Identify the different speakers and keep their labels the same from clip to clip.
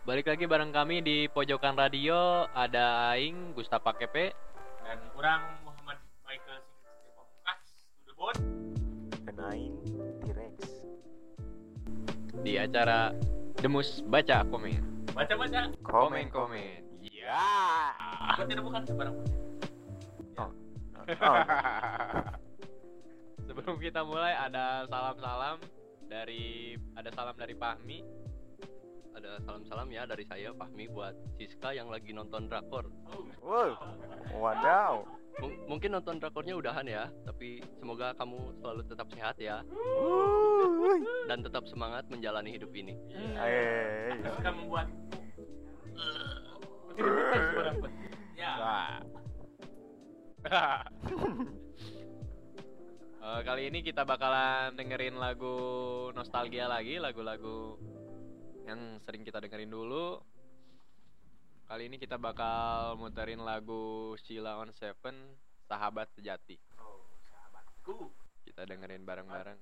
Speaker 1: Balik lagi bareng kami di Pojokan Radio. Ada Aing, Gustapa Kepe,
Speaker 2: dan kurang Muhammad Michael Sigit Pamungkas Tudebon
Speaker 3: dan Aing T-Rex
Speaker 1: di acara Demus Baca Komen.
Speaker 2: baca-baca
Speaker 1: Komen. Ya.
Speaker 2: buat tidak bukan sebarang
Speaker 3: Oh.
Speaker 1: Sebelum kita mulai ada salam dari Fahmi.
Speaker 4: Ada salam-salam ya dari saya Fahmi buat Siska yang lagi nonton drakor.
Speaker 3: Wow, wadaw.
Speaker 4: Mungkin nonton drakornya udahan ya, tapi semoga kamu selalu tetap sehat ya dan tetap semangat menjalani hidup ini.
Speaker 2: suka membuat tidak bukan sebarang ya.
Speaker 1: Kali ini kita bakalan dengerin lagu nostalgia lagi, lagu-lagu yang sering kita dengerin dulu. Kali ini kita bakal muterin lagu Sheila on Seven, Sahabat Sejati.
Speaker 2: Oh, sahabatku.
Speaker 1: Kita dengerin bareng-bareng.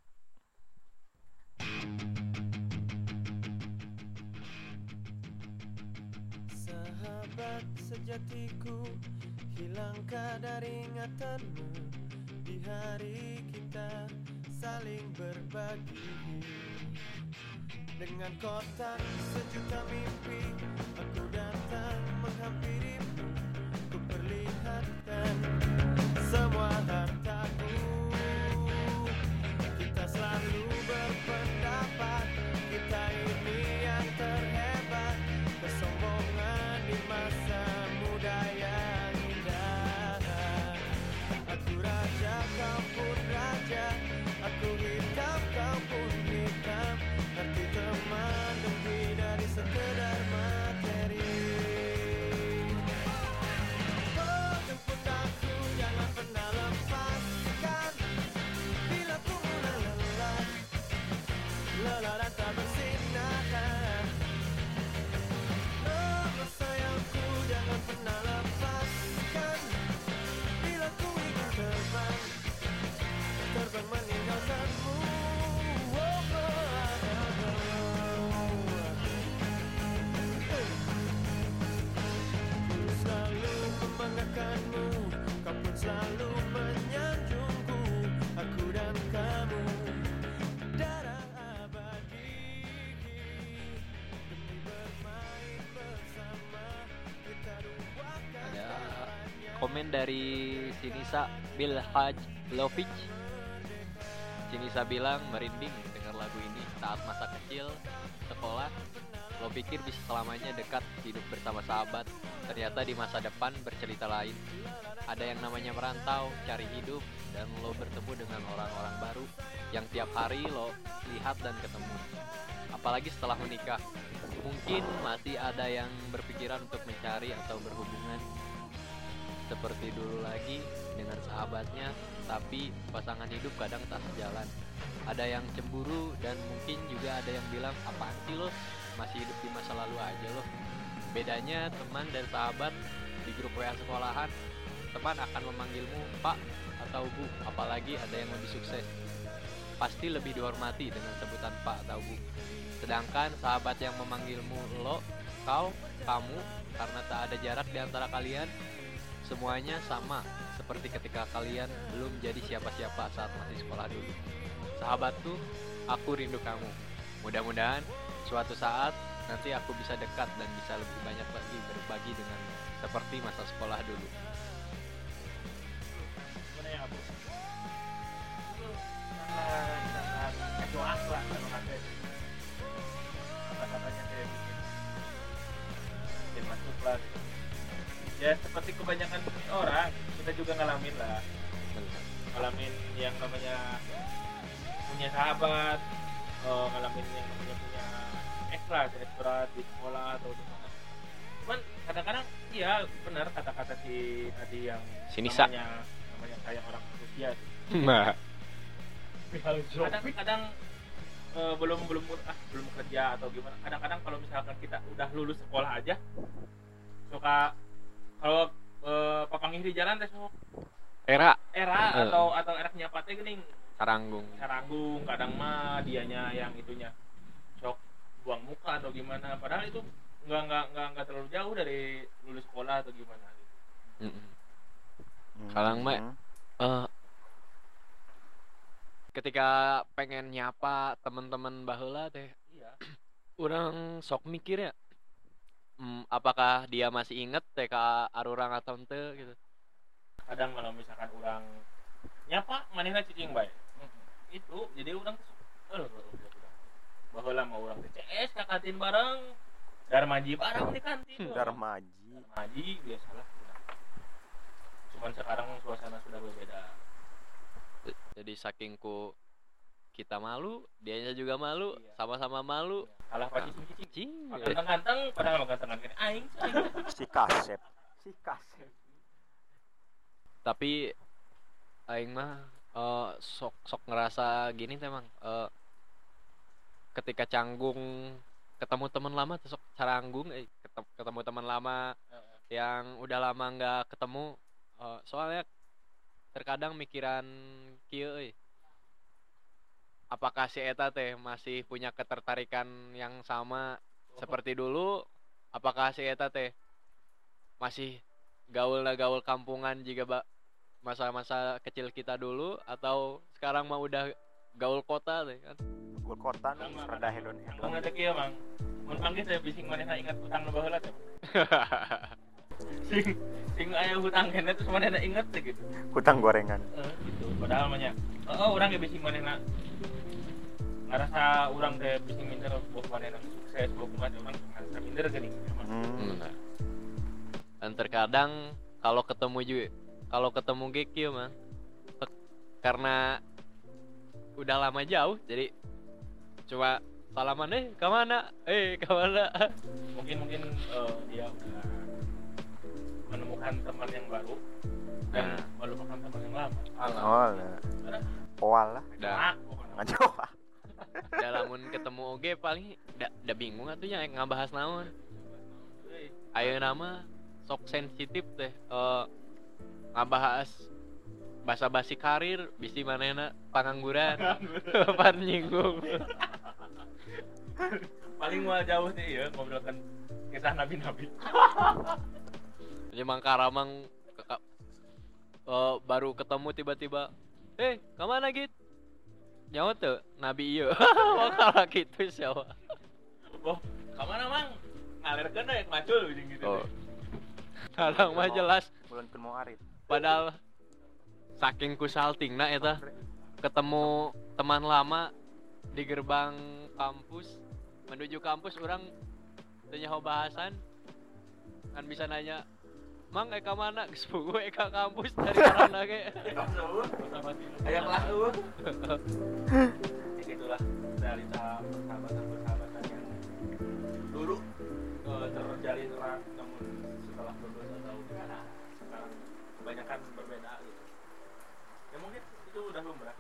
Speaker 5: Sahabat sejatiku, hilangkah dari ingatanmu di hari kita saling berbagi. Dengan kotak sejuta mimpi, aku datang menghampirimu. Ku perlihatkan semua hartaku. Kita selalu berpendapat, kita ini yang terhebat. Kesombongan di masa muda yang indah. Aku raja, kau pun raja. Aku hitam, kau pun hitam. Arti teman lebih dari sekedar materi. Oh, jemput aku, jangan pernah lepaskan. Bila ku mulai lelah dan tak bersinar. Oh, sayangku, jangan pernah lepaskan. Bila ku ingin terbang meninggalkanmu. Membanggakanmu, kau pun selalu menyanjungku. Aku dan kamu, darah abadi. Demi bermain bersama, kita duakan
Speaker 1: Ada
Speaker 5: segalanya.
Speaker 1: komen dari Sinisa Bilhaj Lovic. Sinisa bilang merinding dengar lagu ini saat masa kecil sekolah. Lo pikir bisa selamanya dekat hidup bersama sahabat. Ternyata di masa depan bercerita lain. Ada yang namanya merantau, cari hidup, dan lo bertemu dengan orang-orang baru yang tiap hari lo lihat dan ketemu. Apalagi setelah menikah. Mungkin masih ada yang berpikiran untuk mencari atau berhubungan seperti dulu lagi dengan sahabatnya, tapi pasangan hidup kadang tak sejalan. Ada yang cemburu dan mungkin juga ada yang bilang, apaan sih lo, masih hidup di masa lalu aja lo. Bedanya teman dan sahabat di grup WA sekolahan, teman akan memanggilmu Pak atau Bu, apalagi ada yang lebih sukses. Pasti lebih dihormati dengan sebutan Pak atau Bu. Sedangkan sahabat yang memanggilmu lo, kau, kamu, karena tak ada jarak di antara kalian, semuanya sama seperti ketika kalian belum jadi siapa-siapa saat masih sekolah dulu. Sahabatku, aku rindu kamu. Mudah-mudahan suatu saat nanti aku bisa dekat dan bisa lebih banyak lagi berbagi denganmu seperti masa sekolah dulu.
Speaker 2: Gimana ya, Bu? Sangat doa lah kalau kata kata-katanya saya bikin masuk lah gitu. Ya seperti kebanyakan orang, kita juga ngalamin lah, ngalamin yang namanya punya sahabat, ngalamin yang namanya punya ex lah, ex berat di sekolah atau di mana. Cuman kadang-kadang iya benar kata-kata si tadi yang
Speaker 1: Sinisa.
Speaker 2: namanya kayak orang usia.
Speaker 1: Nah,
Speaker 2: Kadang-kadang belum kerja atau gimana. Kadang-kadang kalau misalkan kita udah lulus sekolah aja suka kalau papangih di jalan teh sok
Speaker 1: era
Speaker 2: atau erak nyapatnya geuning
Speaker 1: Saranggung.
Speaker 2: kadang mah dianya yang itunya sok buang muka atau gimana, padahal itu nggak terlalu jauh dari lulus sekolah atau gimana gitu.
Speaker 1: Kadang mah ketika pengen nyapa teman-teman baheula teh
Speaker 2: Iya.
Speaker 1: urang sok mikir ya, apakah dia masih inget teh ka arurang atau ente gitu.
Speaker 2: Kadang kalau misalkan orang nyapa manehna cicing bae. Itu jadi orang baheula mah urang teh CS ka kantin bareng, darmaji bareng di kantin. Darmaji biasalah. Cuman sekarang suasana sudah berbeda.
Speaker 1: Jadi saking ku kita malu, dianya juga malu,
Speaker 2: Iya.
Speaker 1: sama-sama malu.
Speaker 2: Kalah pasti cicing.
Speaker 1: Cing.
Speaker 2: Ganteng-ganteng padahal gantengan kan aing.
Speaker 3: Si kasep.
Speaker 1: Tapi aing mah sok ngerasa gini teh Mang. Ketika canggung ketemu teman lama tuh sok caranggung ketemu teman lama yang udah lama nggak ketemu, soalnya terkadang mikiran kieu euy. Apakah si eta teh masih punya ketertarikan yang sama seperti dulu? Apakah si eta teh masih gaul kampungan juga masa-masa kecil kita dulu, atau sekarang mah udah gaul kota teh kan?
Speaker 3: Gaul kota nu rada hedon.
Speaker 2: Mang teh kieu Mang. Mun panggil teh bising manehna ingat utang nu baheula teh. sing aya hutang kene terus manehna inget teh gitu.
Speaker 3: Hutang gorengan.
Speaker 2: Gitu. Padahal mah nya urang ge bising manehna ngarasa urang teh bising minder buat manehna sukses, buat kumaha urang ngarasa minder geuning emang.
Speaker 1: Benar. Dan terkadang kalau ketemu ge kieu mah karena udah lama jauh jadi cuma salaman kemana
Speaker 2: Mungkin dia udah menemukan teman yang baru dan melupakan teman yang lama.
Speaker 3: Oh, poal lah.
Speaker 1: Dah
Speaker 3: Ngajoa.
Speaker 1: lamun ketemu oge paling da bingung atunya ngabahas naon. Ayeuna mah sok sensitif teh ngabahas basa-basi karir bisi manehna pangangguran. Pan nyinggung.
Speaker 2: Paling mau jauh sih ya ngobrolkan kisah nabi-nabi.
Speaker 1: Jadi Mang Karamang baru ketemu tiba-tiba, kemana Git? Nyawa tuh nabi ieu. Wakala gitu siapa?
Speaker 2: Kemana Mang? Ngalirkeun ya macul gitu.
Speaker 1: Oh. Kadang mah jelas
Speaker 3: Bulan mau arit.
Speaker 1: padahal saking kusaltingna eta ketemu teman lama di gerbang kampus menuju kampus orang tanya bahasan kan bisa nanya Mang eka mana geus puguh eka kampus dari karana ge
Speaker 2: Aya kelas tuh. Itulah realita persahabatan yang dulu terjalin erat namun setelah lulus atau sekarang kebanyakan berbeda gitu. Ya mungkin itu udah lumrah.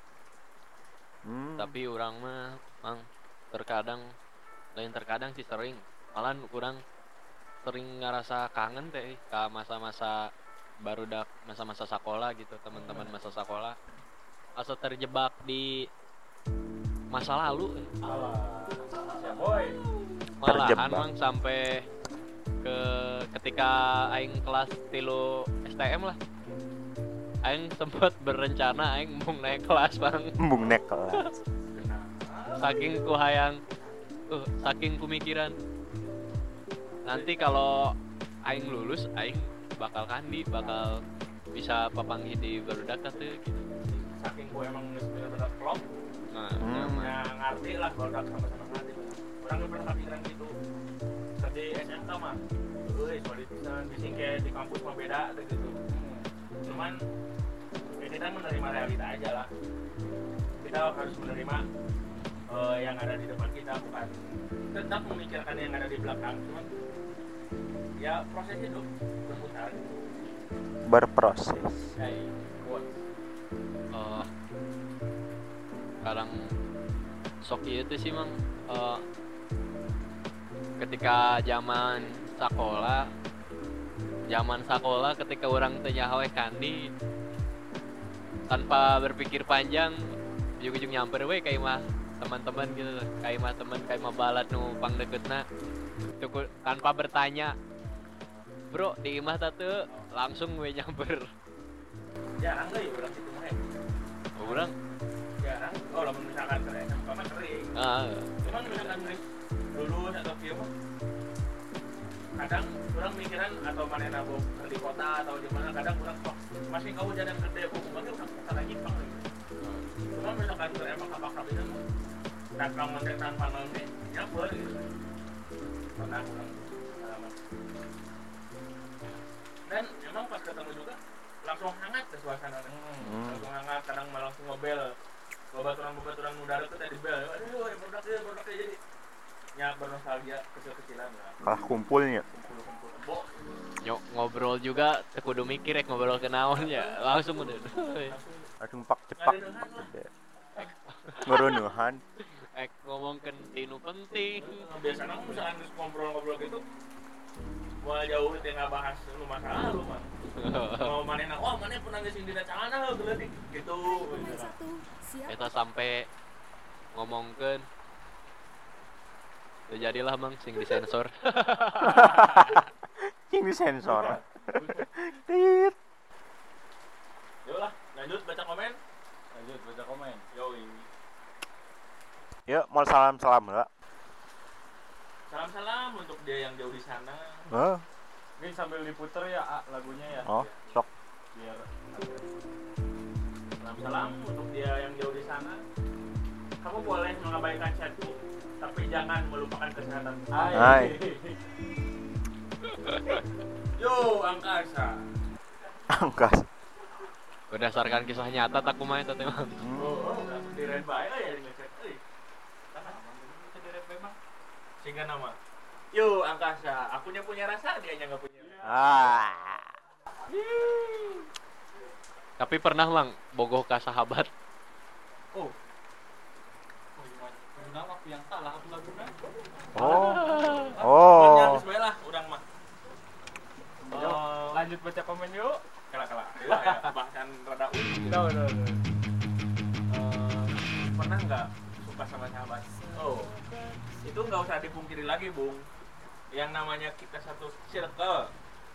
Speaker 1: Tapi orang mah Mang terkadang sih sering malah kurang sering ngerasa kangen teh ke masa-masa barudak masa-masa sekolah gitu, teman-teman masa sekolah asa terjebak di masa lalu
Speaker 2: Ya boy.
Speaker 1: malahan Mang sampai ketika aing kelas 3 STM lah aing sempat berencana aing mau naik kelas Bang.
Speaker 3: Embung naik kelas.
Speaker 1: Saking ku hayang saking ku mikiran nanti kalau aing lulus aing bakal bisa papanggih di barudak tuh gitu.
Speaker 2: Saking gue emang bener-bener klop.
Speaker 1: Nah,
Speaker 2: Ya ngerti lah barudak sama-sama ngerti. Orang pernah kepikiran gitu. Tadi SMK mah. Solid pisan bising kayak di kampus mah beda gitu. Cuman ya kita menerima realita aja lah. Kita harus menerima yang ada di depan kita, bukan tetap memikirkan yang ada di belakang. Cuman ya proses hidup berputar.
Speaker 3: Berproses.
Speaker 2: Buat
Speaker 1: kadang sok ieu teh sih Mang ketika zaman sekolah ketika orang teh nyaho kandi tanpa berpikir panjang ujung-ujung nyamper we ka imah teman-teman gitu kayak mah teman kayak mah balat nu pang deketna tuh tanpa bertanya bro di imah tatu langsung we nyamper
Speaker 2: Jarang lah ya orang situ mah.
Speaker 1: orang
Speaker 2: Jarang. Oh, lamun misalkan keren, sama kering. Cuman misalkan lulus atau kieu mah kadang orang mikiran atau mana nabok di kota atau di mana kadang orang kok masih kau jalan gede hukumannya orang salah nyimpang lagi. Cuma misalkan emang apa itu mah dagang mendekan panelnya nyamper gitu. Pernah orang pengalaman. Dan emang pas ketemu juga langsung hangat ke suasana langsung hangat kadang malah langsung ngobel bobaturan udara tuh tadi bel aduh produknya jadi nyak bernostalgia kecil-kecilan lah
Speaker 3: Kalah kumpulnya.
Speaker 2: kumpul bo
Speaker 1: ngobrol juga tekudu mikir ngobrol ke naon ya langsung udah
Speaker 3: Langsung pak cepak. Ngerunuhan.
Speaker 1: ngomongkeun tinu penting
Speaker 2: biasanya misalkan ngobrol gitu mulai jauh itu nggak bahas lu masalah lu mah mau mana mana pernah ngasih di cangana berarti gitu
Speaker 1: kita sampai ngomongkeun ya jadilah mang sing disensor
Speaker 3: Yang disensor. Tit.
Speaker 2: Yolah lanjut baca komen yoi
Speaker 3: Yuk, mau salam-salam enggak?
Speaker 2: salam untuk dia yang jauh di sana
Speaker 6: Ini sambil diputer ya lagunya ya.
Speaker 3: Oh, sok.
Speaker 6: Biar
Speaker 2: salam untuk dia yang jauh di sana. Kamu boleh mengabaikan chatku, tapi jangan melupakan kesehatan.
Speaker 3: Hai.
Speaker 2: Yo, angkasa.
Speaker 3: Angkas.
Speaker 1: berdasarkan kisah nyata tak kumaha eta teh mah
Speaker 2: Oh, langsung direct bae lah ya di ngechat. Euy. Bisa direct memang. Sehingga nama. Yo, angkasa. Akunya punya rasa, dianya enggak punya.
Speaker 1: tapi pernah mang bogoh ka sahabat
Speaker 2: Oh. Guna waktu yang salah aku laguna.
Speaker 3: Oh.
Speaker 2: Geus bae lah urang mah.
Speaker 6: lanjut baca komen yuk.
Speaker 2: Kala. Ya, bahasan rada unik. Pernah nggak suka sama sahabat? Oh, itu nggak usah dipungkiri lagi, Bung. Yang namanya kita satu circle,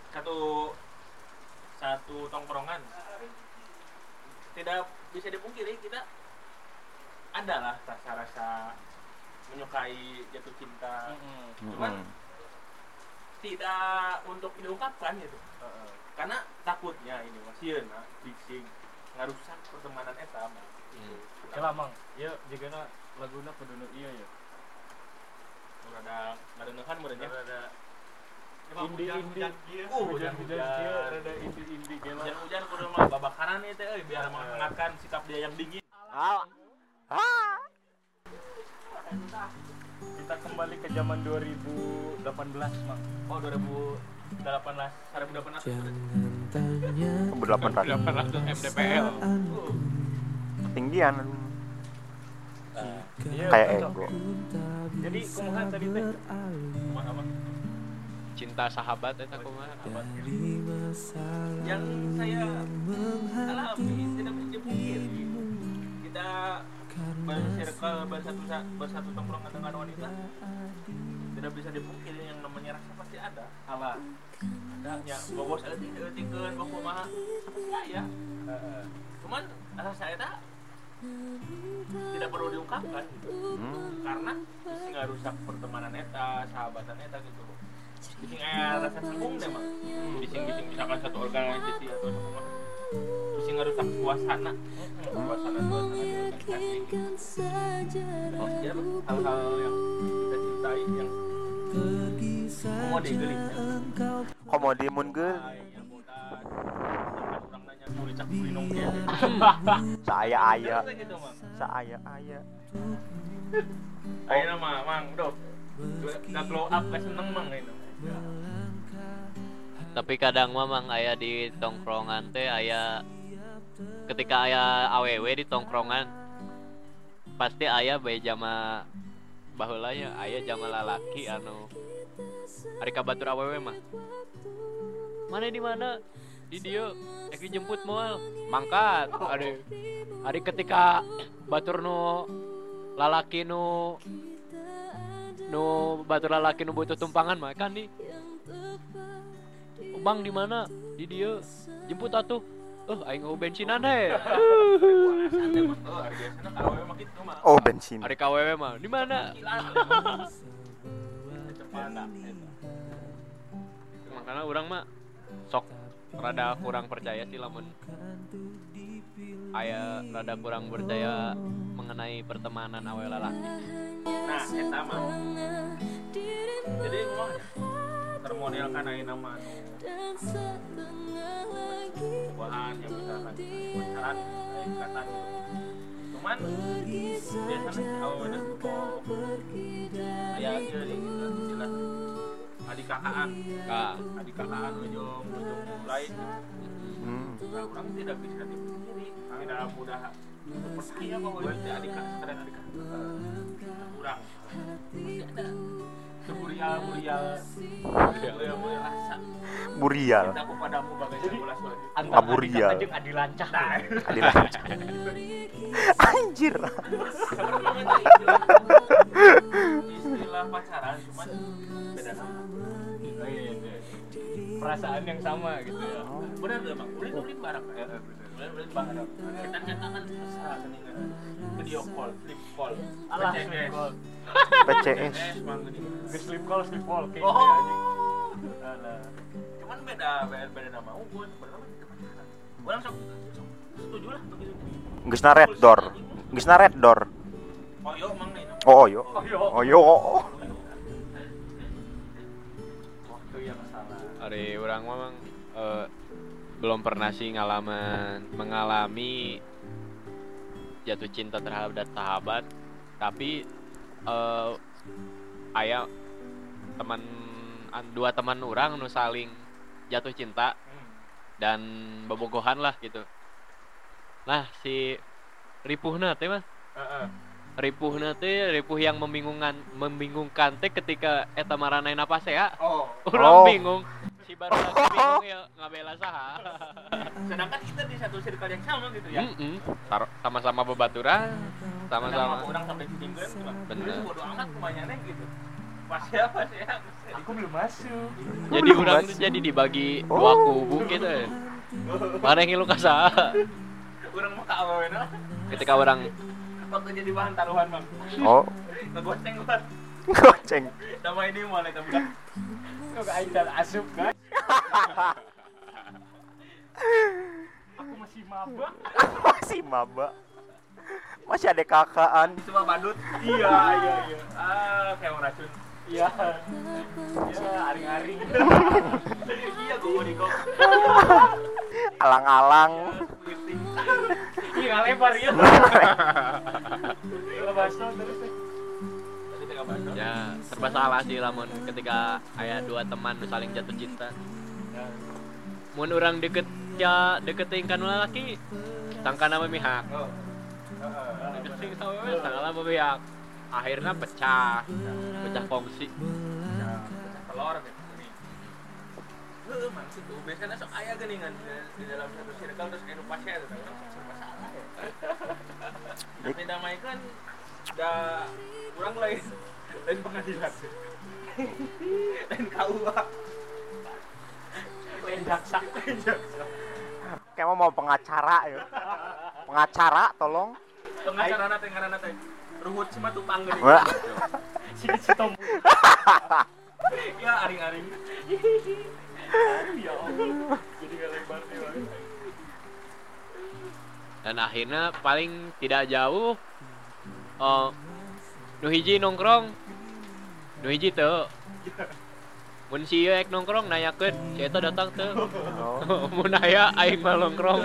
Speaker 2: satu tongkrongan, tidak bisa dipungkiri kita adalah rasa-rasa menyukai, jatuh cinta. Cuman tidak untuk diungkapkan gitu. Karena takutnya ini masih bising ngarusak pertemanan eta mah.
Speaker 6: Kela mang, ieu jigana laguna kudu nu ieu ya.
Speaker 2: Rada ngadengehan meureunnya.
Speaker 6: Rada
Speaker 2: Indie.
Speaker 6: hujan kieu rada indie gela.
Speaker 2: Hujan kudu mah babakaran ieu teh euy biar menghangatkan sikap dia yang dingin.
Speaker 6: Kita kembali ke zaman 2018 mang.
Speaker 2: Oh 2018
Speaker 3: Berdelapan
Speaker 1: MDPL
Speaker 3: ketinggian.
Speaker 6: Iya,
Speaker 3: Kayak
Speaker 6: cocok.
Speaker 3: ego.
Speaker 6: Jadi kumaha tadi teh?
Speaker 2: Apa?
Speaker 1: cinta sahabat eta kumaha
Speaker 2: Yang saya alami tidak bisa dipungkiri. Kita bersirkel bersatu tongkrongan dengan wanita tidak bisa dipungkiri yang namanya rasa pasti ada.
Speaker 6: Alah.
Speaker 2: Adanya bogos eutik-eutikeun baku mah ya. Cuman rasa eta tidak perlu diungkapkan gitu. Karena bisa ngarusak pertemanan eta, sahabatan eta gitu. Bising aya rasa canggung deh mah. Bising-bising misalkan satu organisasi atau apa. Bising ngarusak suasana. Suasana di organisasi. Oh, ya, hal-hal yang kita cintai yang komode geuling.
Speaker 3: Komodi mun geul.
Speaker 2: Yang bodas. Orang nanya kulicak kulinong dia.
Speaker 3: Saaya-aya.
Speaker 2: Gitu, Mang.
Speaker 3: Saaya-aya.
Speaker 2: Ayeuna mah, Mang, dok. Udah glow up ka seneng Mang ayeuna.
Speaker 1: tapi kadang mamang aya di tongkrongan teh aya ketika aya awewe di tongkrongan pasti aya bae jama baheula nya aya jama lalaki anu ari kabatur awewe mah mana di mana di dieu eki jemput moal mangkat ari ketika batur nu lalaki nu batur lalaki nu butuh tumpangan mah kan nih. Bang di mana? Di dia. Jemput atuh. Aing ngeuh bensinan he.
Speaker 3: Oh, bensin.
Speaker 1: Ari KWW mah di mana? Makanya orang mah sok rada kurang percaya sih lamun aya rada kurang percaya mengenai pertemanan awe lalaki.
Speaker 2: Nah, eta mah. Jadi ngomongnya termodel kan aya nama bahan yang misalkan pacaran ikatan gitu. Cuman biasanya awalnya aya jadi gitu jelas adik kakaan ujung mulai nah, orang tidak bisa dipungkiri tidak mudah percaya bahwa itu adik kakak kurang masih ada seburial rasa
Speaker 3: Burial.
Speaker 2: cintaku padamu bagaikan bola sulit
Speaker 6: Antara
Speaker 3: Burial.
Speaker 6: Adika jeung Adi Lancah.
Speaker 3: Adilanca. Anjir.
Speaker 2: istilah pacaran cuman beda nama.
Speaker 6: Oh iya. Perasaan yang sama gitu ya.
Speaker 2: Benar gak bang? Ulit bareng ya? Ulit bareng. Kita kan mesra keningan video call, flip call,
Speaker 6: Alah,
Speaker 2: PCS.
Speaker 6: sleep call.
Speaker 3: PCS.
Speaker 2: Bang gini.
Speaker 6: Ge sleep call kayak
Speaker 2: Oh.
Speaker 6: gitu ya, anjing. Alah.
Speaker 2: Cuman beda nama. Gue sebenarnya kita pacaran. Orang sok setuju lah untuk itu.
Speaker 3: Geusna red door. Geusna red door.
Speaker 2: Oh yo emang nih.
Speaker 3: Oh, yo.
Speaker 6: yo.
Speaker 3: Oh, yo.
Speaker 6: Waktu yang salah.
Speaker 1: Ari urang memang belum pernah sih mengalami jatuh cinta terhadap sahabat, tapi aya dua teman orang nu saling jatuh cinta dan bobogohan lah gitu. Nah si ripuhna teh mah ripuh yang membingungkan teh ketika eta maranaina pas ya. Urang
Speaker 3: Oh.
Speaker 1: bingung. Si baru lagi bingung ya ngabela saha.
Speaker 2: Sedangkan kita di satu circle yang sama gitu ya.
Speaker 1: Sama-sama bebaturan, sama-sama.
Speaker 2: Orang sampai tinggal cuma.
Speaker 1: Bener.
Speaker 2: Bodo amat kebanyakan gitu. Pas ya.
Speaker 6: Aku belum masuk.
Speaker 1: Jadi urang tuh jadi dibagi dua kubu gitu. Mana yang ngilu ka saha?
Speaker 2: Urang mah ka awena.
Speaker 1: Ketika orang
Speaker 2: Waktu jadi bahan taruhan bang.
Speaker 3: Oh,
Speaker 2: Ngegoceng gua.
Speaker 3: goceng.
Speaker 2: Sama ini mulai tapi kan.
Speaker 6: Kok aing dan asup kan? Aku masih maba.
Speaker 3: Masih maba. Masih ada kakaan.
Speaker 2: Cuma badut. Iya. Kayak orang racun.
Speaker 6: Iya. Ya, aring-aring.
Speaker 2: Iya gua mau dikok.
Speaker 3: Alang-alang.
Speaker 6: Iya, ngalebar ya. Lepas terus.
Speaker 2: Tadi tengah bahasa.
Speaker 1: ya serba salah sih lamun ketika aya dua teman nu saling jatuh cinta. Mun urang deketin kan lalaki tangkana memihak. Deketin sama tangkana memihak. Akhirnya pecah kongsi.
Speaker 2: Telur gitu nih. Mang situ biasanya sok aya geuningan di dalam satu circle terus anu pasnya itu orang sok serba salah ya. Tapi damaikan da urang lain pengadilan. Lain KUA.
Speaker 6: Lain jaksa.
Speaker 3: Kayak mau pengacara ya. Pengacara tolong.
Speaker 2: Pengacarana teh ngaranna teh Ruhut Simatupang geuning.
Speaker 3: Wah.
Speaker 6: Si Tom.
Speaker 2: Ya aring-aring.
Speaker 6: Ya Allah. Jadi ngalebar nih, Bang.
Speaker 1: Dan akhirnya paling tidak jauh nu hiji nongkrong nu hiji teu mun si ieu ek nongkrong nanyakeun si eta datang teu mun aya aing mah nongkrong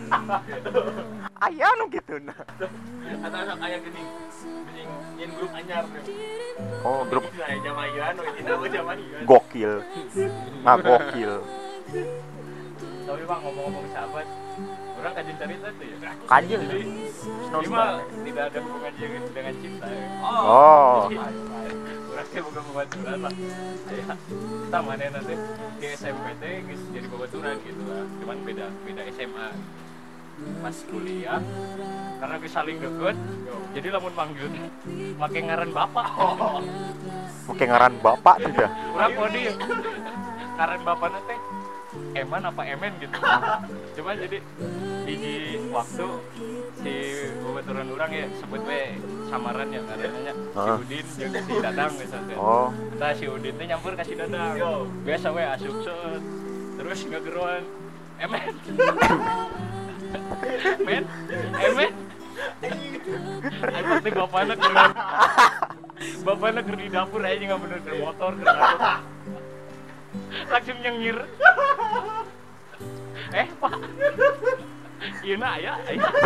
Speaker 3: Aya nu kituna.
Speaker 2: Atau sok aya geuning nyen grup anyar teh.
Speaker 3: Oh, grup
Speaker 2: Aya jamaian we dina jamaian.
Speaker 3: gokil. Nah, gokil.
Speaker 6: Tapi Bang ngomong-ngomong sahabat, orang kajin cerita tuh ya.
Speaker 3: Kajil.
Speaker 6: Jadi ini mah tidak ada hubungan dengan cinta ya.
Speaker 3: Oh.
Speaker 6: Orang teh bukan babaturan lah. Ya, kita mana nanti di SMP teh geus jadi babaturan gitu lah. Cuman beda SMA.
Speaker 4: pas kuliah karena gue saling deket jadi lamun manggil pakai ngaran bapak.
Speaker 3: Oke ngaran bapak sudah.
Speaker 4: Urang kode ngaran bapakna teh Eman apa Emen gitu. Cuma jadi hiji waktu si babaturan urang ya sebut we samaran ya ngarannya si Udin jeung si Dadang misalnya.
Speaker 3: Oh,
Speaker 4: Tah si Udin teh nyampur ka si Dadang. Biasa we asup seut. Terus ngageroan Emen. Men, Emen. Ayo teh bapakna keur bapakna keur di dapur aja nggak bener ke motor ke langsung nyengir. Pak, iya nak ya.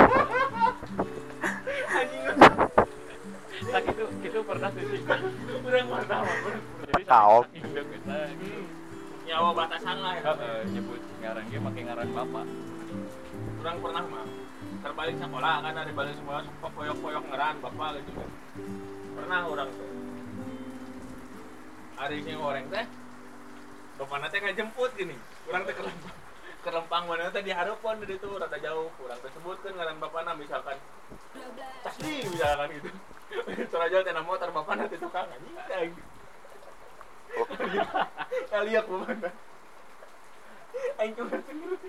Speaker 4: Tak itu pernah tuh sih. Urang pertama.
Speaker 3: Tahu.
Speaker 2: Nyawa batasan lah ya.
Speaker 4: Nyebut ngaran ge make ngaran bapak.
Speaker 2: Urang pernah mah terbalik sekolah kan ada balik sekolah suka poyok-poyok ngeran bapak gitu kan. Pernah orang tuh. Hari ini orang teh bapakna teh ngajemput gini. Urang teh ke Lempang mana teh dihareupeun di ditu rada jauh. Urang teh sebutkeun ngaran bapakna misalkan Casdi misalkan gitu. Terus teh nama motor bapakna teh tukang anjing. Kaliak bapakna. Aing tuh sendiri.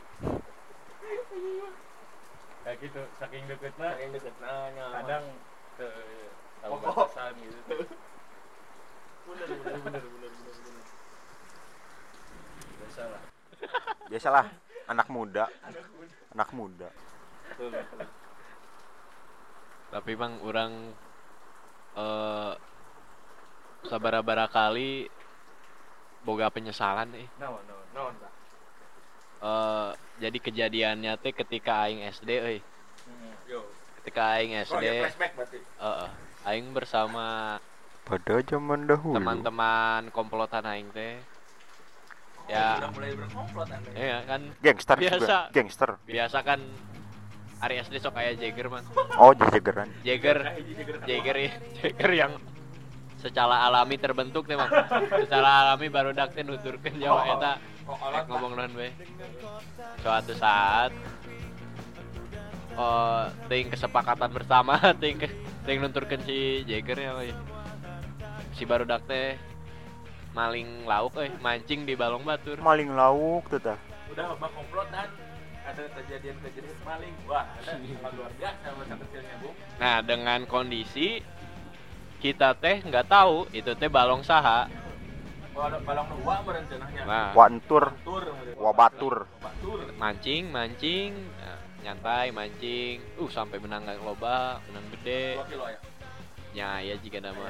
Speaker 4: Kayak gitu, saking deketnya kadang ke tahu batasan gitu.
Speaker 2: Bener.
Speaker 3: biasalah anak muda.
Speaker 1: Tapi bang orang sabara-bara kali boga penyesalan
Speaker 2: No.
Speaker 1: jadi kejadiannya teh ketika aing SD
Speaker 2: Yo.
Speaker 1: ketika aing SD
Speaker 2: Flashback berarti.
Speaker 1: aing bersama
Speaker 3: Pada zaman dahulu.
Speaker 1: teman-teman komplotan aing teh ya
Speaker 2: Udah mulai berkomplot Anda.
Speaker 1: ya kan
Speaker 3: Gangster
Speaker 1: Biasa.
Speaker 3: juga. Gangster.
Speaker 1: biasa kan hari SD sok kayak Jagger man
Speaker 3: Oh, jageran.
Speaker 1: Jagger yang secara alami terbentuk teh man secara alami baru dak teh nuturkeun Jawa eta ngomong naon we suatu saat ting kesepakatan bersama ting nunturkeun si Jagger ya we. Si barudak teh maling lauk mancing di balong batur.
Speaker 3: Maling lauk tuh tah.
Speaker 2: Udah mah komplotan ada kejadian maling. Wah, ada sangat luar biasa masa kecilnya, Bu.
Speaker 1: Nah, dengan kondisi kita teh nggak tahu itu teh balong saha.
Speaker 2: Oh, ada balong dua merencananya.
Speaker 1: Nah,
Speaker 3: Wantur,
Speaker 2: Tur.
Speaker 3: wabatur.
Speaker 1: mancing, nah, nyantai mancing. Sampai menang loba, menang gede.
Speaker 2: 2 kilo ya.
Speaker 1: Ya jika nama.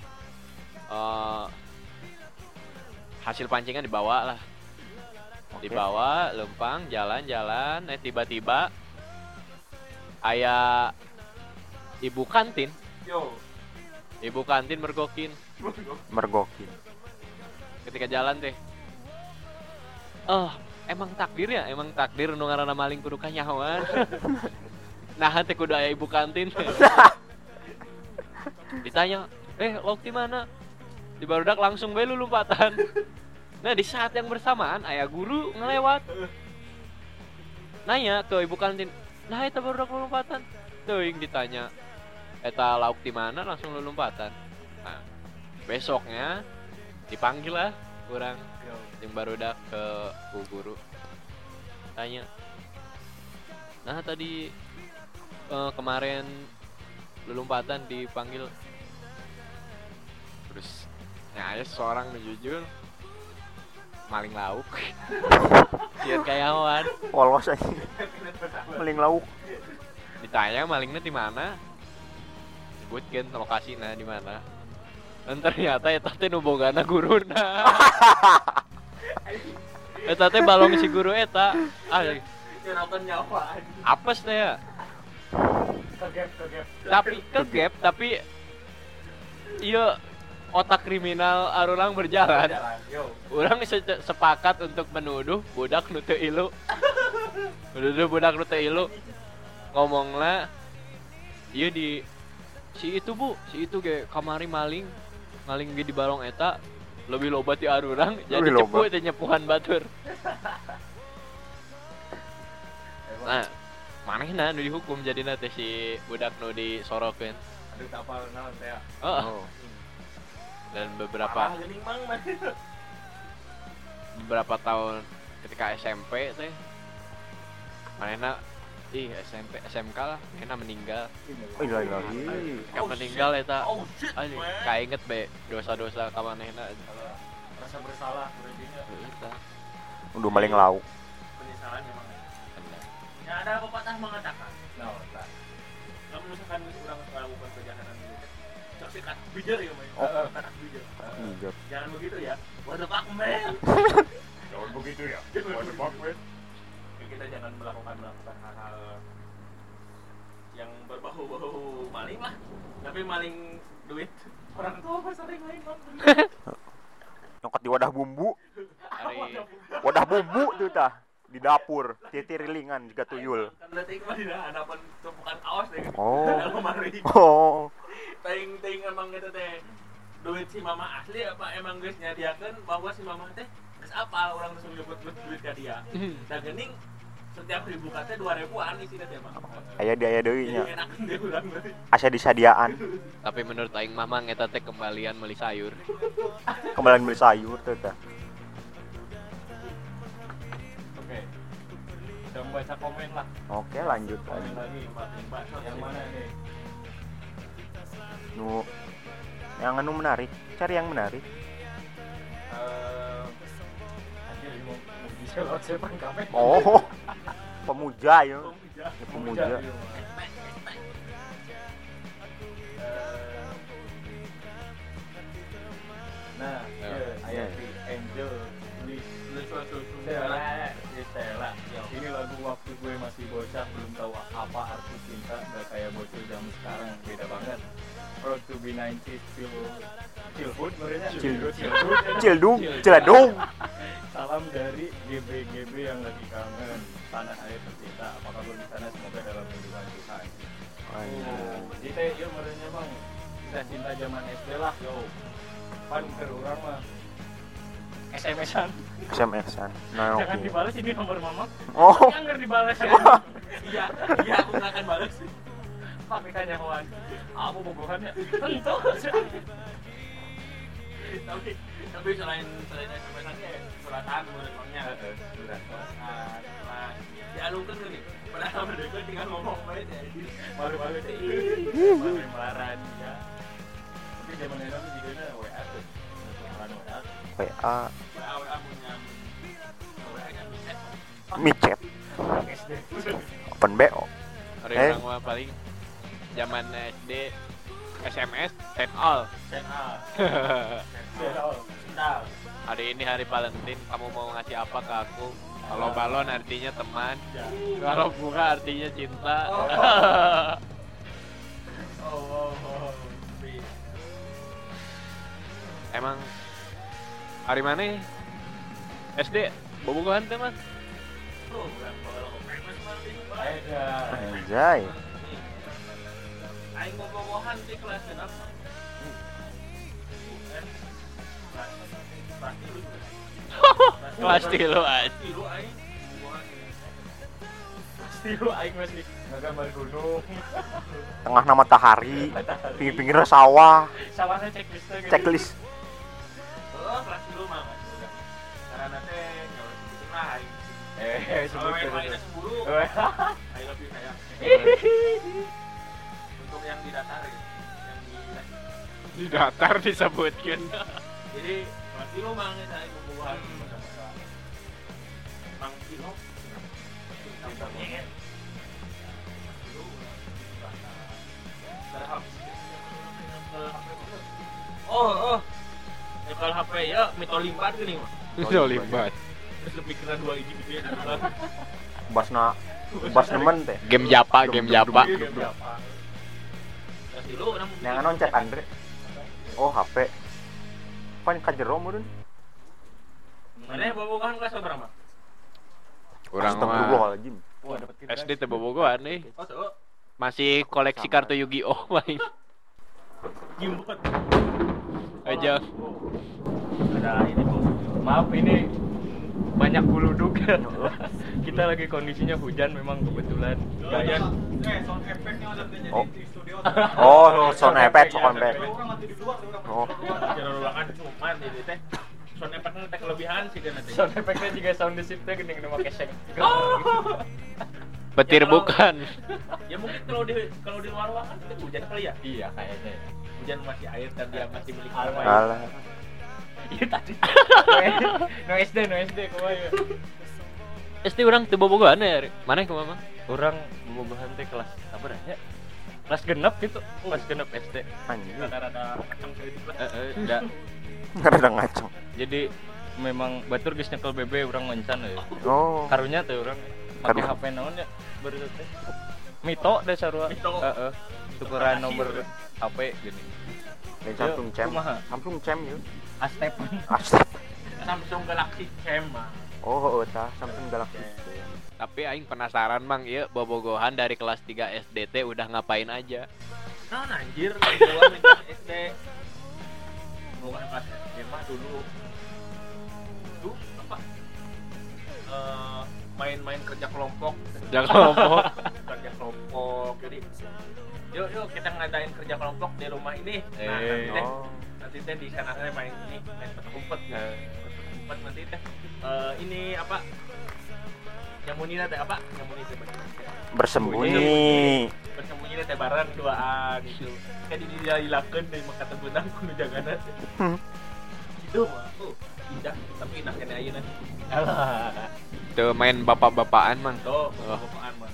Speaker 1: Hasil pancingan dibawa lah. Dibawa, lempang, jalan-jalan, tiba-tiba aya ibu kantin.
Speaker 2: Yo.
Speaker 1: Ibu kantin mergokin. Ketika jalan teh. Emang takdir nu ngaranna maling kudu kanyahoan. Nah, teh kudu aya ibu kantin. Ditanya, lauk di mana? Di barudak langsung bae lompatan. Nah, di saat yang bersamaan aya guru ngelewat. Nanya ke ibu kantin, "Nah, eta barudak lompatan?" Teuing ditanya, "Eta lauk di mana?" Langsung lompatan. Nah, besoknya dipanggil lah kurang yang barudak ke bu guru. Tanya, "Nah, tadi kemarin lompatan dipanggil." Terus ada seorang jujur maling lauk. Sian kayawan.
Speaker 3: Polos aja. Maling lauk.
Speaker 1: Ditanya malingnya di mana? Sebutkeun lokasina di mana. Dan ternyata eta teh nu bogana guruna. Eta teh balong si guru eta.
Speaker 2: Nyerakan nyawa.
Speaker 1: Apes teh ya.
Speaker 2: Kegep.
Speaker 1: Tapi iya otak kriminal arurang berjalan. Urang sepakat untuk menuduh budak nu teu ilu. Ngomongna ieu di si itu ge kamari maling ge di balong eta lebih loba ti arurang jadi cepu teh nyepuhan batur. Nah, manehna nu dihukum jadina teh si budak nu disorokeun.
Speaker 4: Aduh kapal naon teh.
Speaker 1: Oh. Dan
Speaker 2: Parah geuning mang mah.
Speaker 1: beberapa tahun ketika SMP teh manehna SMP SMK lah manehna meninggal.
Speaker 3: Oh iya lagi.
Speaker 1: Ketika meninggal eta
Speaker 2: Oh shit.
Speaker 1: anjing
Speaker 2: man.
Speaker 1: kainget be dosa-dosa ka manehna.
Speaker 4: Rasa bersalah berarti.
Speaker 1: Eta.
Speaker 3: Udah maling lauk.
Speaker 2: Penyesalan memang. Ya ada pepatah mengatakan,
Speaker 4: Nah, tak.
Speaker 2: kalau misalkan orang melakukan kejahatan gitu, cok sikat bijak ya main.
Speaker 3: Oh.
Speaker 2: Kata bijak.
Speaker 3: Iya.
Speaker 2: Jangan begitu ya. What the fuck man?
Speaker 4: Jangan begitu ya. What the fuck, man?
Speaker 2: Ya, kita jangan melakukan hal-hal yang berbau-bau maling lah. Tapi maling duit orang tua mah sering maling bang.
Speaker 3: Nyokot di wadah bumbu.
Speaker 1: Hari
Speaker 3: Wadah bumbu tuh tah. Di dapur, titirilingan juga tuyul.
Speaker 2: Kan detik mah dina hadapan tumpukan kaos deh.
Speaker 3: Oh.
Speaker 2: Dalam lemari.
Speaker 3: Oh.
Speaker 2: Ting emang gitu teh. Duit si mama asli apa emang geus nyadiakeun bahwa si mama teh geus apal urang geus nyebut duit ka dia. Da geuning setiap ribu teh 2.000-an isina teh mah.
Speaker 3: Aya deui nya.
Speaker 2: Jadi enakeun deh urang berarti.
Speaker 3: Asa disadiaan.
Speaker 1: tapi menurut aing mah mang eta teh kembalian meuli sayur.
Speaker 3: Kembali beli sayur tuh tah.
Speaker 4: Oke. Udah membaca komen lah.
Speaker 3: Oke, lanjut
Speaker 4: Komen
Speaker 3: lagi.
Speaker 4: lagi. Yang mana nih?
Speaker 3: Nu yang anu menarik, cari yang menarik.
Speaker 4: Anjir ini mau bisa lewat siapa komen?
Speaker 3: Oh. Pemuja ya. Ya, pemuja.
Speaker 4: Nah, ayat di Angel Stella. Ini lagu waktu gue masih bocah belum tahu apa arti cinta, gak kayak bocil zaman sekarang, beda banget. Proud to be 90s Cilhood mereka.
Speaker 3: Cildung, Ciladung.
Speaker 4: Salam dari GB yang lagi kangen tanah air tercinta. Apa kabar di sana? Semoga dalam lindungan Tuhan. Kita yuk merenya bang kita cinta zaman SD lah yo. Pan ke orang mah SMS-an.
Speaker 3: SMS-an. Nah,
Speaker 4: Jangan
Speaker 3: oke.
Speaker 4: dibalas ini nomor mama.
Speaker 3: Oh.
Speaker 4: Jangan dibalas ya.
Speaker 2: Iya aku nggak akan balas sih.
Speaker 4: Pakai tanya kawan. Aku bobohannya. Tentu.
Speaker 2: Tapi selain SMS-an ya suratan menurut bangnya.
Speaker 4: Sudah.
Speaker 2: Nah, dialungkan nih. Padahal mereka tinggal ngomong baik ya.
Speaker 4: Malu-malu sih. Malu melaran ya. Tapi zaman itu juga WA tuh. Melaran WA.
Speaker 3: WA,
Speaker 2: WA punya WA-nya micet.
Speaker 3: micet,
Speaker 4: SD.
Speaker 3: open BO.
Speaker 1: Hari
Speaker 3: Eh.
Speaker 1: orang mah paling zaman SD SMS send all.
Speaker 2: Channel.
Speaker 4: Nah,
Speaker 1: Hari ini hari Valentine, kamu mau ngasih apa ke aku? Kalau balon artinya teman, kalau bunga artinya cinta. Emang hari mana? SD bobogohan teh mas?
Speaker 3: Anjay.
Speaker 2: Aing bobogohan di kelas kenapa?
Speaker 1: Kelas tilu aja.
Speaker 2: Tilu aing bobogohan.
Speaker 4: pasti lu aing masih ngagambar gunung.
Speaker 3: Tengah matahari, pinggir-pinggir sawah,
Speaker 4: Sawahnya checklist gitu.
Speaker 3: checklist.
Speaker 2: Oh, kelas tilu mah masih udah. Karena teh nggak usah sebutin lah aing.
Speaker 4: Sebut
Speaker 2: Kalau
Speaker 4: gitu.
Speaker 2: yang lainnya 10, I love you sayang. Untuk yang di datar ya, yang
Speaker 1: Di datar disebutkan.
Speaker 2: jadi kelas tilu mang ya saya bobogohan. Mang Tino. Oh, nyekel HP ya, Mito limpat gini mah.
Speaker 1: Itu limbat.
Speaker 2: Terus kepikiran 2 hiji gitu ya.
Speaker 3: Bas nemen teh.
Speaker 1: Game Japa, game Japa.
Speaker 2: Kelas tilu orang
Speaker 3: Yang anon cek Andre. Oh, HP. Pan ka jero meureun.
Speaker 2: mana bobogohan kelas berapa?
Speaker 1: Kurang mah
Speaker 3: Astagfirullahaladzim.
Speaker 4: Wah, dapat
Speaker 1: SD teh bobogohan nih.
Speaker 2: Oh, tuh.
Speaker 1: Masih koleksi kartu Yu-Gi-Oh main.
Speaker 2: Gimbot.
Speaker 1: Aja.
Speaker 4: Ada ini tuh. Maaf ini banyak buluduk. Kita lagi kondisinya hujan memang kebetulan.
Speaker 2: Gaya sound effect-nya ada jadi
Speaker 3: Oh.
Speaker 2: di studio.
Speaker 3: Oh, sound effect, sound effect.
Speaker 2: Orang mati di luar, orang
Speaker 3: Oh.
Speaker 2: di ruangan cuman ini teh sound effect-nya teh kelebihan sih kan nanti.
Speaker 4: Sound effect-nya juga sound desip-nya gede make keseng.
Speaker 1: Petir
Speaker 2: Ya, kalau-
Speaker 1: bukan.
Speaker 2: Ya mungkin kalau di luar ruangan itu hujan kali ya.
Speaker 4: Iya kayaknya.
Speaker 2: Hujan masih air dan dia masih milik
Speaker 4: Alah.
Speaker 2: orang lain.
Speaker 3: Alah.
Speaker 4: Iya tadi. No SD kumaha.
Speaker 1: SD orang teu bobogohan ya. Mana kumaha?
Speaker 4: Orang bobogohan teh kelas apa ya? Kelas genep gitu. Kelas genep SD.
Speaker 3: Anjing.
Speaker 2: Rada-rada kacang sedikit lah.
Speaker 4: Enggak.
Speaker 3: Rada ngaceng.
Speaker 4: Jadi memang batur geus nyekel BB urang mencan ya.
Speaker 3: Oh.
Speaker 4: Karunya teh urang make
Speaker 3: Karunya.
Speaker 4: HP naon ya baru teh. Mito deh sarua.
Speaker 2: Mito.
Speaker 4: Heeh. Tukeran nomor HP gini.
Speaker 3: Dari Samsung Cam.
Speaker 4: kumaha?
Speaker 3: Samsung Cam yuk.
Speaker 4: Astepan.
Speaker 3: Astag.
Speaker 2: Samsung Galaxy Cam mah.
Speaker 3: Oh, tah Samsung Galaxy.
Speaker 1: Tapi aing penasaran Mang, ieu bobogohan dari kelas 3 SDT udah ngapain aja?
Speaker 2: Nah, anjir, gua minta SD. Bukan kelas SD mah dulu. Tuh, apa? Main-main kerja kelompok.
Speaker 1: Jangan kelompok.
Speaker 2: Kerja kelompok. Jadi, yuk kita ngadain kerja kelompok di rumah ini. Nah,
Speaker 3: Oh.
Speaker 2: nanti teh di sana teh main ini, main petak umpet. Umpet nanti teh ini apa? Nyamunina teh apa? Nyamuni teh
Speaker 3: Bersembunyi.
Speaker 2: bersembunyi teh bareng duaan gitu. Kayak dilakukan dari maka tebenang kudu jagana teh. Itu mah. Indah, tapi indah kene ayeuna.
Speaker 4: Alah.
Speaker 1: Tuh main bapak-bapakan Mang.
Speaker 2: Tuh, bapaan mah.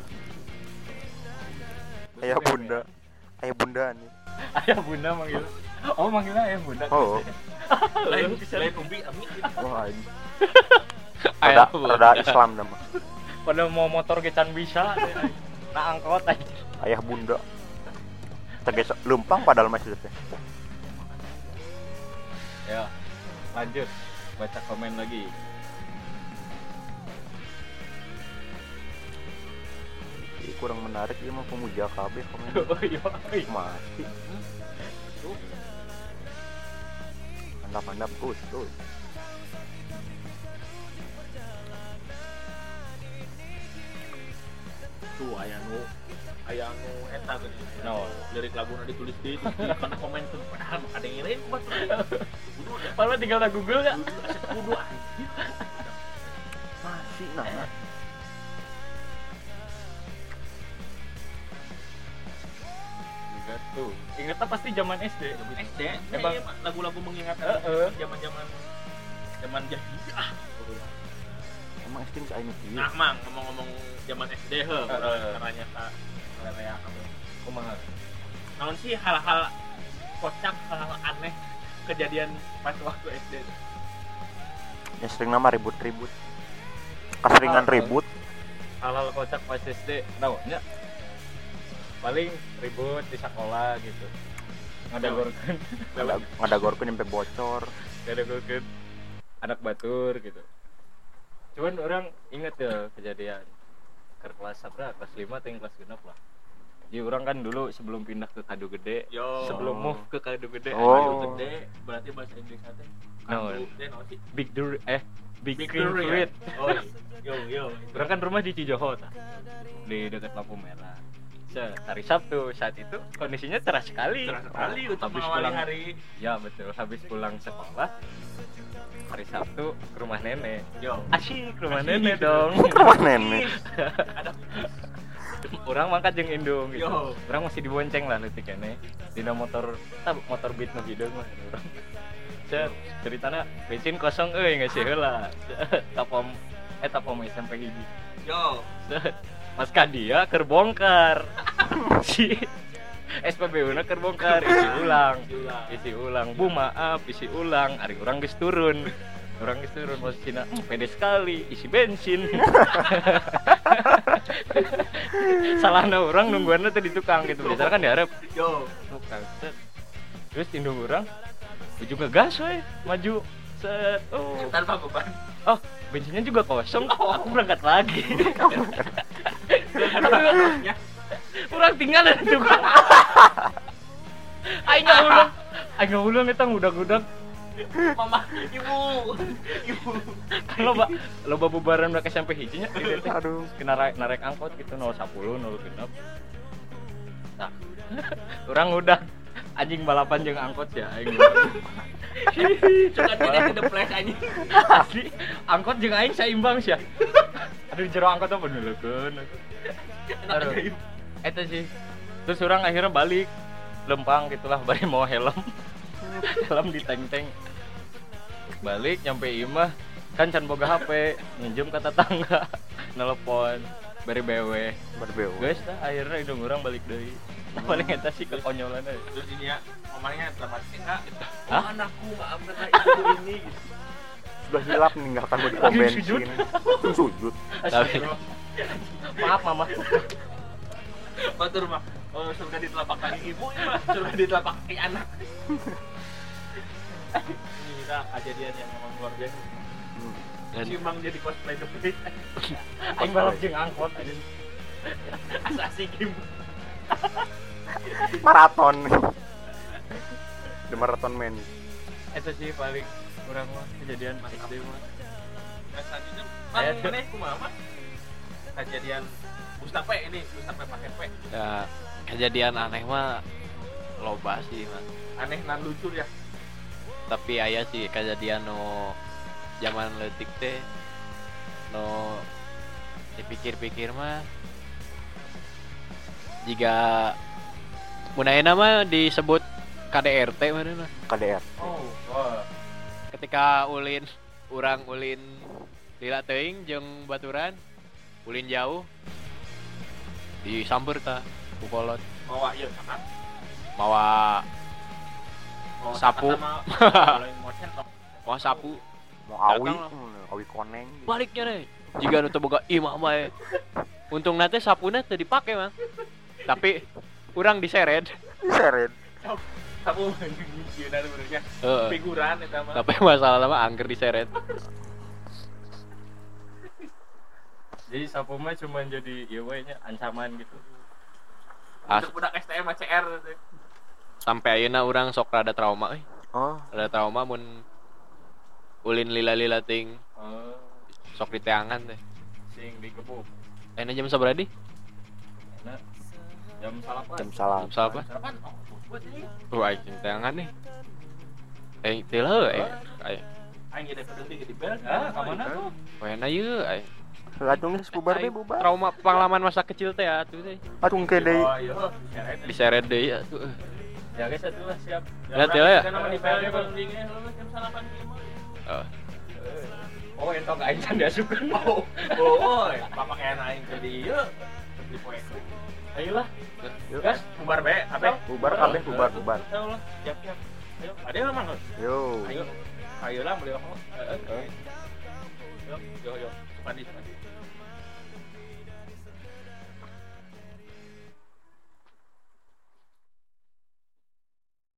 Speaker 3: Ayah bunda. Ayah bunda nih.
Speaker 4: Ayah bunda manggil. Oh manggilnya ayah bunda.
Speaker 3: Oh.
Speaker 2: Lain umbi ami gitu.
Speaker 3: Wah, anjing.
Speaker 1: Ayah
Speaker 3: Rada Islam nama.
Speaker 4: Pada mau motor gecan bisa. Nah angkot aja.
Speaker 3: Ayah bunda. Teges lumpang padahal masih teh.
Speaker 4: Ya. Lanjut. Baca komen lagi.
Speaker 3: Ih, kurang menarik ieu mah pemuja KB komen.
Speaker 4: Oh iya.
Speaker 3: Mati. Mantap Gus.
Speaker 2: Tuh aya nu eta geuning.
Speaker 4: No.
Speaker 2: Lirik laguna ditulis di kana komen tuh padahal ada yang lain kuat.
Speaker 4: Malah tinggal na Google ya.
Speaker 2: Kudu anjir.
Speaker 3: Masih nah.
Speaker 4: Juga tuh. Ingatnya pasti zaman SD.
Speaker 2: SD
Speaker 4: Emang-
Speaker 2: emang lagu-lagu mengingatkan
Speaker 4: Heeh.
Speaker 2: zaman jahiliyah.
Speaker 3: Emang sting saya ini
Speaker 2: Nah, Mang, ngomong-ngomong zaman SD he, caranya tak ya kamu.
Speaker 4: Kumaha?
Speaker 2: Naon sih hal-hal kocak, hal-hal aneh kejadian pas waktu SD.
Speaker 3: Ya sering nama ribut-ribut. Keseringan ribut.
Speaker 4: Hal-hal kocak pas SD. Naonnya? Paling ribut di sekolah gitu. Ngadagorkeun.
Speaker 3: Ngadagorkeun sampai bocor.
Speaker 4: Ngadagorkeun anak batur gitu. Cuman orang inget ya kejadian ke kelas apa? Kelas 5 atau yang kelas 6 lah. Jadi orang kan dulu sebelum pindah ke Kadu Gede,
Speaker 2: Yo.
Speaker 4: sebelum move ke Kadu Gede,
Speaker 3: Oh.
Speaker 2: Kadu gede, berarti bahasa Inggris teh.
Speaker 4: Naon?
Speaker 2: Kadu gede naon sih?
Speaker 4: Big
Speaker 2: Big
Speaker 4: Green
Speaker 2: Durian.
Speaker 4: Fruit.
Speaker 2: Oh, yo.
Speaker 4: Orang kan rumah di Cijoho tah. Di dekat lampu merah. Hari Sabtu saat itu kondisinya cerah sekali.
Speaker 2: Cerah sekali untuk
Speaker 4: Habis
Speaker 2: mengawali
Speaker 4: pulang-
Speaker 2: hari.
Speaker 4: Ya betul, habis pulang sekolah hari Sabtu ke rumah nenek.
Speaker 2: Yo.
Speaker 4: Asyik ke rumah
Speaker 2: Asyik.
Speaker 4: nenek dong.
Speaker 3: Rumah nenek.
Speaker 2: Ada
Speaker 4: Orang mangkat jeung indung gitu.
Speaker 2: Yo.
Speaker 4: Orang masih dibonceng lah leutik kene. Dina motor beat nu hideung mah urang. Cet, ceritana bensin kosong euy geus heula. Tapom SMP hiji.
Speaker 2: yo.
Speaker 4: Set, Mas Kadia keur bongkar. Si SPBU-na keur bongkar, isi ulang. Bu maaf, isi ulang. Ari urang geus turun. Posisinya pede sekali, isi bensin. Salahna urang nungguanna teh di tukang gitu. Biasanya kan diharap
Speaker 2: Yo.
Speaker 4: tukang. Set. Terus indung urang ujung ngegas we, maju. Set. Oh.
Speaker 2: Tanpa beban.
Speaker 4: Oh, bensinnya juga kosong. Aku berangkat lagi.
Speaker 2: Ya.
Speaker 4: Kurang tinggal di tukang. Aing ulung eta ngudag-ngudag.
Speaker 2: Mama, ibu.
Speaker 4: Kan loba bubaran mereka sampai hijinya gitu teh.
Speaker 3: Aduh.
Speaker 4: Kena narek angkot gitu 010 0 genep. Nah. Orang udah anjing balapan jeung angkot ya aing.
Speaker 2: Coba tidak kedeplek anjing.
Speaker 4: Asli angkot jeung aing saimbang sia. Aduh jero angkot apa nuleukeun. Aduh. Eta sih. Terus orang akhirnya balik lempang gitulah bari mau helm. Helm di teng-teng. Balik nyampe imah kan can boga HP, minjem ke tetangga, nelpon, bari BW.
Speaker 3: Berbeu.
Speaker 4: Guys, dah akhirnya hidung orang balik deui. Paling eta sih kekonyolan aja.
Speaker 2: Terus ini ya, mamanya dramatis enggak?
Speaker 4: Hah?
Speaker 2: Anakku maafkanlah ibu ini gitu.
Speaker 3: Sudah hilap meninggalkan body pom
Speaker 4: Lagi sujud.
Speaker 3: bensin. Sujud.
Speaker 1: Tapi
Speaker 4: Maaf mama.
Speaker 2: Batur mah. Oh, surga di telapak kaki ibu ini mah, surga di telapak kaki anak. Ini kita kejadian yang memang luar biasa.
Speaker 1: dan
Speaker 2: Si Mang jadi cosplay The Face.
Speaker 4: Aing balap jeung angkot aja.
Speaker 2: Asasi game.
Speaker 3: Maraton. The Marathon Man.
Speaker 4: Eta sih paling urang mah kejadian pas SD mah.
Speaker 2: Nah, selanjutnya, Mang, mana kumaha mah? Kejadian Mustafa ini, Mustafa pakai P.
Speaker 1: ya kejadian aneh mah loba sih mas.
Speaker 2: Aneh nan lucu ya.
Speaker 1: Tapi aya sih kejadian no zaman leutik teh no dipikir-pikir mah jika munaheuna mah disebut KDRT mana
Speaker 3: KDR.
Speaker 4: Oh, wah.
Speaker 1: ketika ulin lila teuing jeung baturan ulin jauh disamber ta ku kolot
Speaker 2: Bawa ieu sama.
Speaker 1: mawa
Speaker 2: Bawa
Speaker 1: Sapu.
Speaker 2: sama kalau yang motion top.
Speaker 1: mau sapu
Speaker 3: Mau awi,
Speaker 1: Datang
Speaker 3: awi koneng.
Speaker 1: baliknya deh jika nu teu boga imah mah untung nate sapuna teu dipake mah tapi urang diseret
Speaker 3: Diseret.
Speaker 2: Sapu nyieunna benernya.
Speaker 1: heeh
Speaker 2: Figuran eta mah.
Speaker 1: tapi masalah mah angker diseret
Speaker 4: Jadi sapu mah cuma jadi ya we nya ancaman gitu.
Speaker 2: Budak STM ACR teh.
Speaker 1: sampai ayeuna urang sok rada trauma
Speaker 3: Oh,
Speaker 1: rada trauma mun ulin lila-lila ting
Speaker 4: Oh,
Speaker 1: sok diteangan teh
Speaker 4: sing digebuk.
Speaker 1: enak jam sabaraha di
Speaker 4: Enak. Jam salapan.
Speaker 3: jam salam.
Speaker 1: jam sabaraha
Speaker 2: Sarapan. Oh, buat ini.
Speaker 1: aing teangan nih teu leuh
Speaker 2: Aing geus berhenti di bel.
Speaker 4: Ah, ka mana tuh?
Speaker 1: Wena ieu
Speaker 3: Latung geus bubar be bubar.
Speaker 1: trauma pengalaman masa kecil teh atuh teh
Speaker 3: Atung ke deui.
Speaker 2: Oh, iya.
Speaker 1: diseret deui atuh
Speaker 4: Ya guys, atulah siap.
Speaker 1: Lihat ya.
Speaker 2: Kan nama di bel belum dingin lu jam 8.05.
Speaker 1: oh.
Speaker 4: Oh, entok aing can diasukeun.
Speaker 2: Oh, bapak kayak aing ke di ieu. Di poe.
Speaker 4: Ayolah.
Speaker 3: Yuk.
Speaker 2: Gas, bubar be, kabeh.
Speaker 3: Bubar kabeh bubar bubar.
Speaker 2: Ayo lah, siap-siap. Ayo, ada yang mang.
Speaker 3: Yo.
Speaker 2: Ayo. Ayo lah beli rokok. Yo, yo. Sepadi.